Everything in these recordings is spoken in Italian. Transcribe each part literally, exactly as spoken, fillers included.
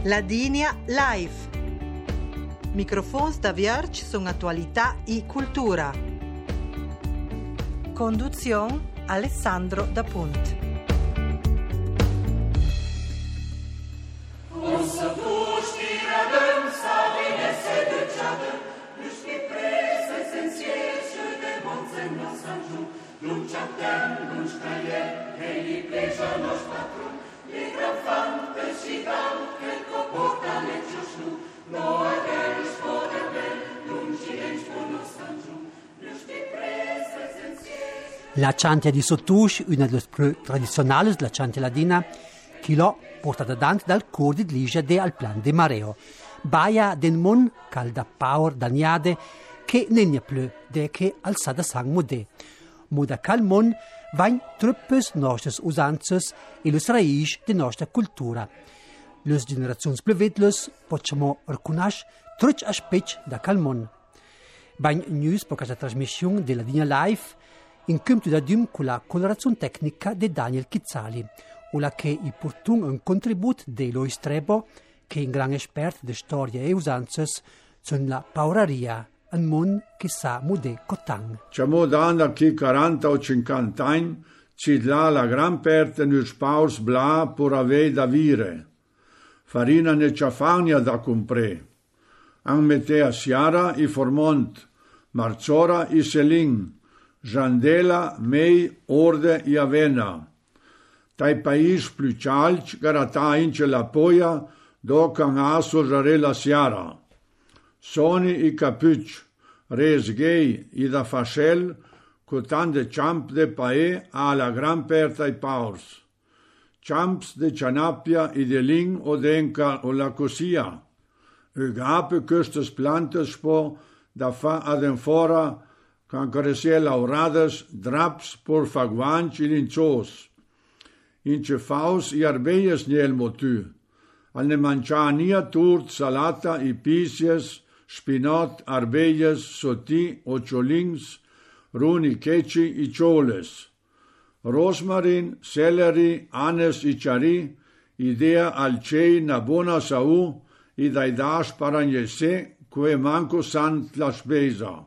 Ladinia Live. Microfons da Vierge sono attualità e cultura. Conduzione Alessandro Da Punt. La chantia di Sottush, una delle più tradizionali della chantia ladina, che l'ho portata avanti dal cor di Ligia de al plan de Mareo. Baia den mon calda power daniade che non è più de che alzada sang modè. Moda cal mon vain truppes nostres usanzas e los raiz de nostra cultura. Les generazioni più vetlus possiamo riconoscere truc aspetti da cal mon. Bain news per questa trasmissione della Ladina Live in cumto da dum con la colorazione tecnica di Daniel Chizzali, o la che i portun un contributo di Lois Trebo, che è un gran esperto di storia e usanzas, sono la pauraria, un mon che sa modè cotan. Ciamo dando che quaranta o cinquanta anni, ci dà la gran parte nus paus bla per avere da vire. Farina ne ciafagna da comprare. An metea siara i formont, marzora i selin, Jandela, mei, orde e avena. Tai país più calci, garata ince la poia, do can aso jare la siara. Soni i capucci, res gay i da fascel, cotan de champ de pae a la gran perta i paurs. Champs de cianapia i de ling o denca o la cosia. Ugape custes plantes spo da fa adenfora, can caresia laurades, draps por faguanci in inzos. Ince faus i arbeies niel motu. Al ne manciania turt, salata, i pisies, spinot, arbeies, soti, ociolings, runi ceci, i cioles. Rosmarin, celery, anes, i ciari, idea al cei na bona sau, i daidas paragnese, que manco sant la spesa.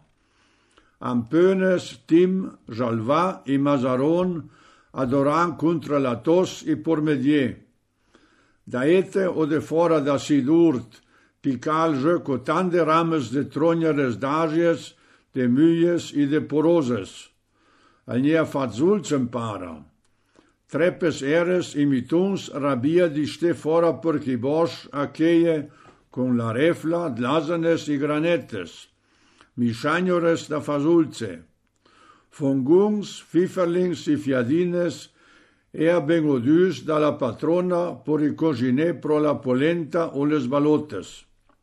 Ampenes, Tim, Jalva i Mazaron adoran contra la tos i pormedier. Daete o de fora da sidurt, pical je cotan de rames de tronjeres dagies, de muyes i de poroses. Al nia fazulz empara. Trepes eres i mituns rabia di ste fora per chi bosch a cheie con la refla, dlazanes i granetes. Mischaniores da fasulze, fongungs, fiferlings i fiadines, ea bengodus da la patrona por i cogine pro la polenta o les balotes.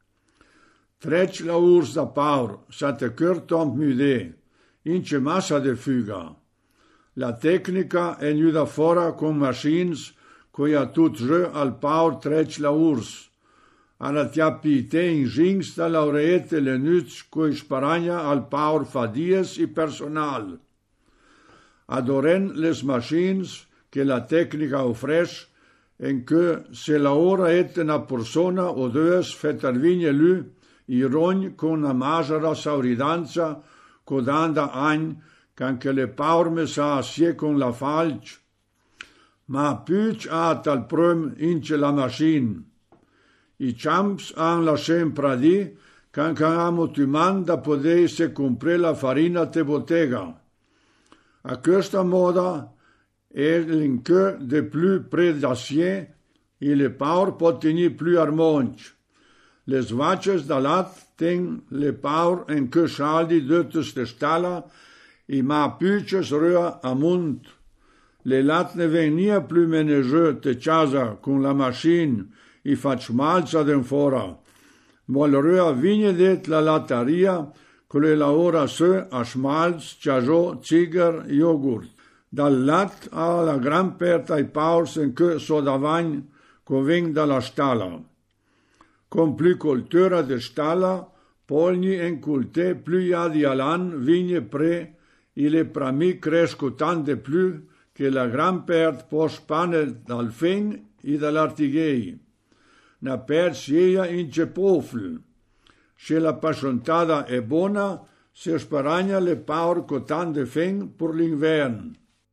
Trec la urs da paur, sa te curtomp mude, ince massa de fuga. La tecnica è nuda fora con machines, coi a tut je al paur trec la urs. Alla tiapite in gings da laureete le nuts coi sparagna al paur fadies i personal. Adoren les machines che la tecnica ofres en que se la ora ete na persona o deus fetarvigne lu i rogn con una maggiore sauridanza codanda agn can che le paur me sa asie con la falc. Ma puc a tal prum ince la machine. I champs han la sempre di can canamo tu manda podesse comprare la farina te bottega. A questa moda è l'inque de plus près d'acier e le paur pot tenir plus armonch. Les vaches da lat ten le paur en que schaldi döttes de stalla i ma puches rua amunt. Le lat ne venia plus menegeux te casa con la machine i fac malza den fora. Mol rua vigne det la lataria, cole la ora se a schmalz, ciajo, ziger, yoghurt. Dal lat a la gran perta i paurs en que so davagn conveng da la stalla. Con plu cultura de stalla, polni en culte plu ja di alan vigne pre, i le prami cresco tan de plu che la gran pert pos pane dal feng i dall'artighei. na per sia in cepofl. Se la passiontada è buona, se sparagna le paur cotan de feng per l'invern.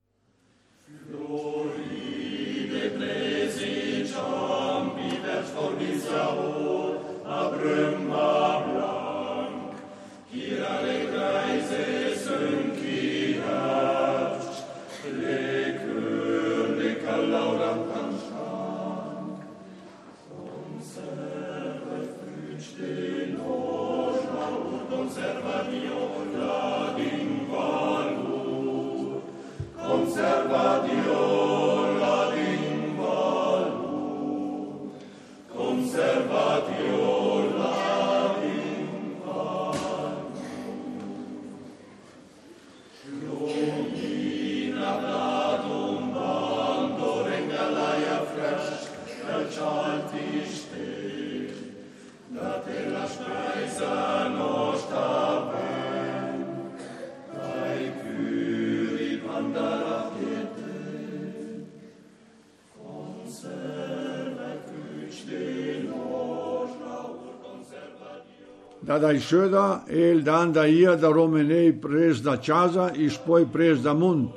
Da dai ședa, el dan da ia da romenei pres da casa, is poi pres da munt.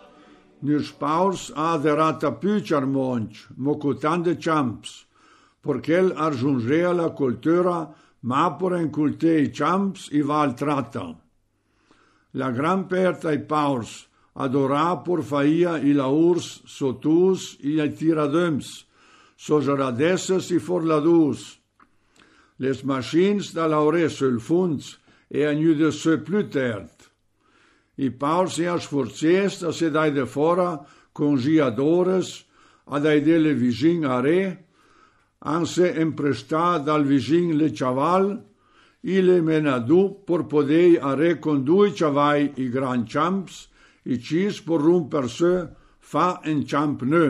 Nus paus a derata pyčar monch, mocutan de champs, porchel arjungea la cultura, ma por en cultei champs i val trata. La gran perta i paus adora por faia i la urs sotus i ai tiradöms, so geradesses i forladus. Les machines da laure sul funds e agnude se plutert. I paus e sforzest a se dai de fora con giadores a dai delle vigin a re, anse empresta dal vigin le chaval, i le menadu por podei a re con due chavai i gran champs, i cis por rumper se fa en champ ne.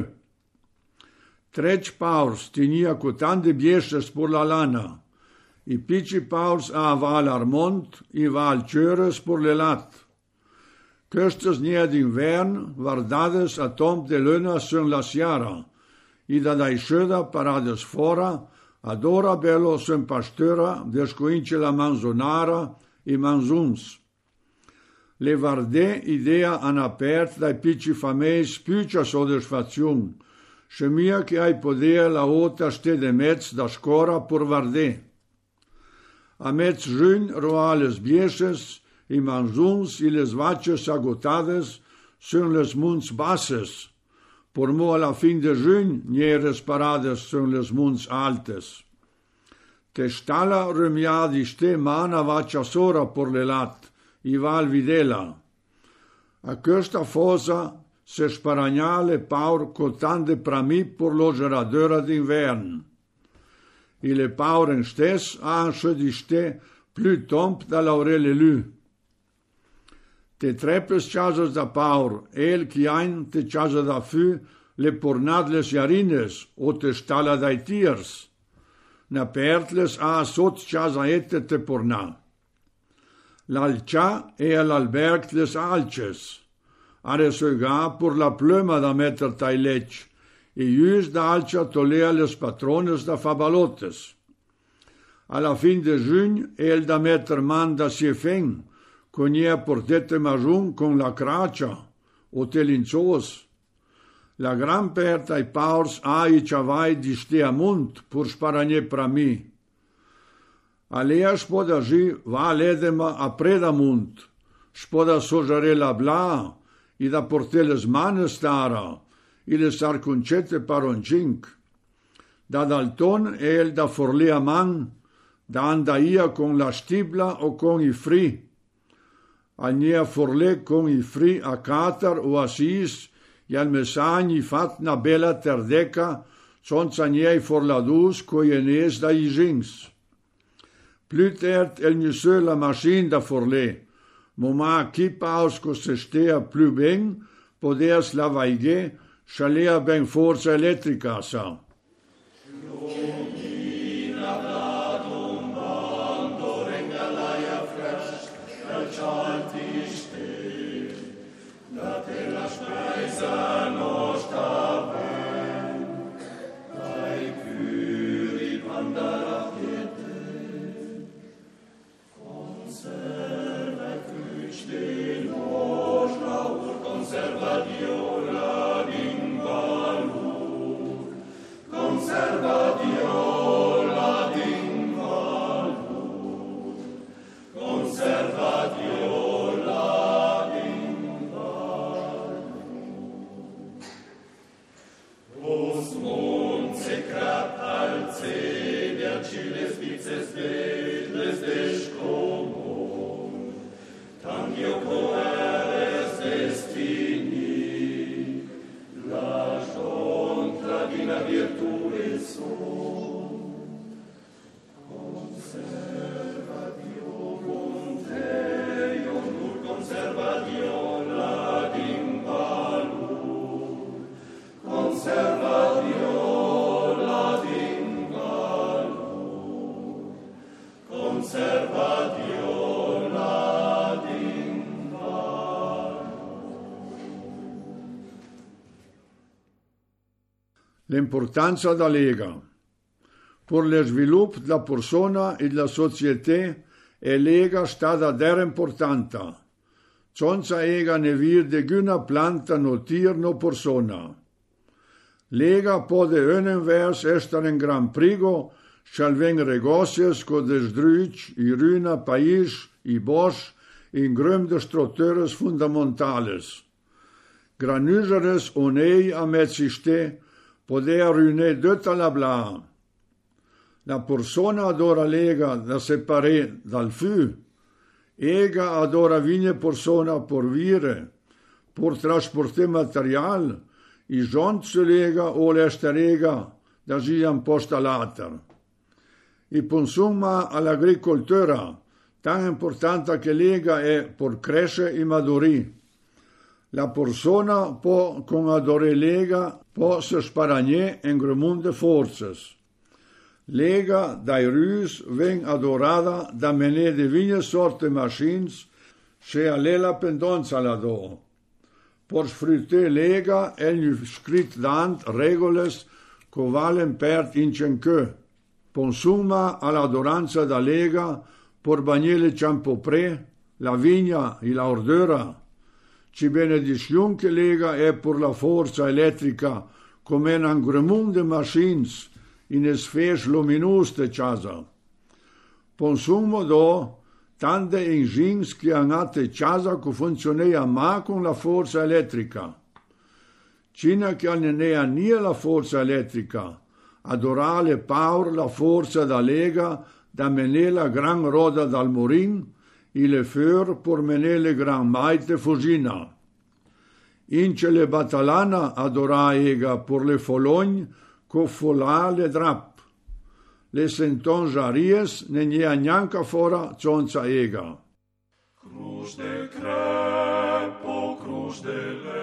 Treci paus tinia cotan de biestes por la lana, i pici paus a val Armont, i val Cures por le lat. Custes nia d'invern, vardades a tomb de luna sun la siara, i da dai ședa parades fora, ad ora bello sun pastura, descoince la manzonara i manzuns. Le varde idea han apert dai pici fameis picia soddisfaziun, se mia che ai podea la ota ste de mezz da scora por varde. A mezz jun roales bieses, i manzuns i les vaches agotades sun les munts basses, por mo a la fin de jun nieres parades sun les munts altes. Te stala remiadi ste mana vacia sora por le lat, i val videla. A questa fosa se sparagnale paur cotan de prami por lo geradora d'invern. I le pauren stes han di ste plu tomp da laurele lu. Te trepes chasas da paur, el chi ein te chasa da fü, le pornadles jarines, o te stala dai tiers. Na pertles a sot chasa ette te porna. L'alcia e all'alberg les alces. Are soga por la pluma da metter tai lech, e ius da alcia tolea les patrones da fabalotes. Alla fin de jun, el da metter man da sie feng, con ia portete majun con la cracia, o telinzos. La gran perta i paurs a i chavai di stea munt, pur sparanie prami. Alea spoda ji va ledema a preda munt, spoda sojare la bla, i da porteles mane stara, i le sarcuncete paroncink. Da dalton el da forlea man, da andaia con la stibla o con i fri. Ania forle con i fri a Qatar o a Sis, i al mesagni fat na bella terdeca, sonza niei forladus coienes da i jings. Plutert el nuseu la machine da forle, moma qui paus co se stea plu ben, podeas la vaige, chalea ben forza elettrica sa. Dai curi L'importanza della Lega. Per lo sviluppo della persona e della società è Lega stata der importante. Senza ega ne vir de guna planta no tier no persona. Lega pode unenvers essere un gran prigo, schalveng regocios co des druic, i runa país, i bos, in grum de structures fundamentales. Granuseres onei a mezziste, poder rune dutta la bla. La persona adora lega da separare dal fu. Ega adora vigne persona por vire, por trasporte material, i jont se lega o l'este lega da sian posta later. I consuma all'agricoltura, tan importante che lega è por cresce i maduri. La persona può con adore lega può se sparagne in gremunde forces. Lega dai rus ven adorada da mene de vigne sorte machines se a lela pendonza la do. Por sfrutte lega el scrit dant regoles co valen pert incenque. Consuma all'adoranza da lega por bagnele ciampopre, la vigna e la ordura. Ci benedizion che lega è per la forza elettrica come un gremunde machines in sfers luminus de casa. Consumo do tante engins che hanno casa che funzionea ma con la forza elettrica. Cina che non è nie la forza elettrica, adorale paur la forza da lega da menè la gran roda dal morin e le feur per menè le gran maite fusina. Ince le batalana adora ega per le fologne co folà le drap. Le senton jaries ne nie neanca fora zonza ega. Cruz de crepo, cruz de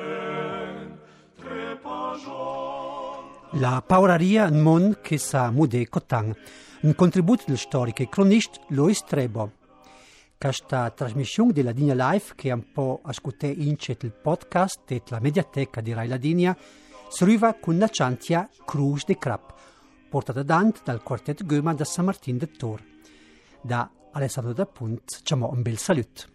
len, trepa giorn. La pauraria un mon che sa mude cotan. Un contributo del storico e cronista Lois Trebo. Questa trasmissione della Digna Live, che un po' ascoltate in il podcast e la mediateca di Rai Ladinia, si arriva con la chantia Cruz de Crap, portata dant dal quartetto Göma da San Martin de Tor. Da Alessandro da Punt, ciamo un bel saluto.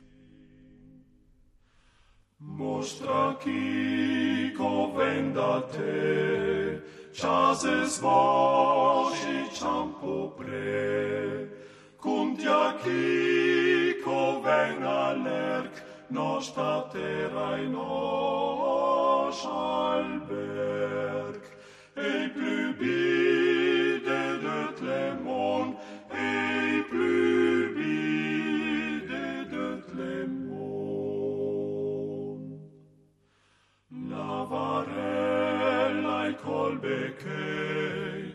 Mostra chi ven da te, chases voci ciampo pre, cuntia chi ven all'erc, nostra terra in nos alberg, et plus bide de Clément, et plus bide de Clément. Navarella e colbecei,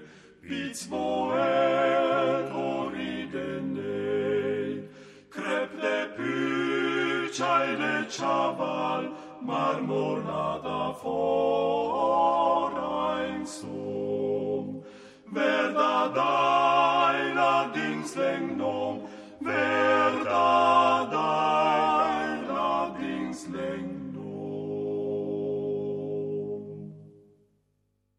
Pitzmoel oridenei, crep de pucciai de chaval, marmorada fora in sum, verdad